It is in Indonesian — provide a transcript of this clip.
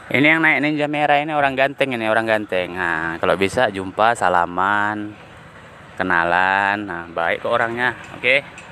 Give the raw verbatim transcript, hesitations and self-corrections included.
Ini yang naik Ninja merah ini orang ganteng ini, orang ganteng. Nah, kalau bisa jumpa, salaman, kenalan. Nah, baik ke orangnya. Oke.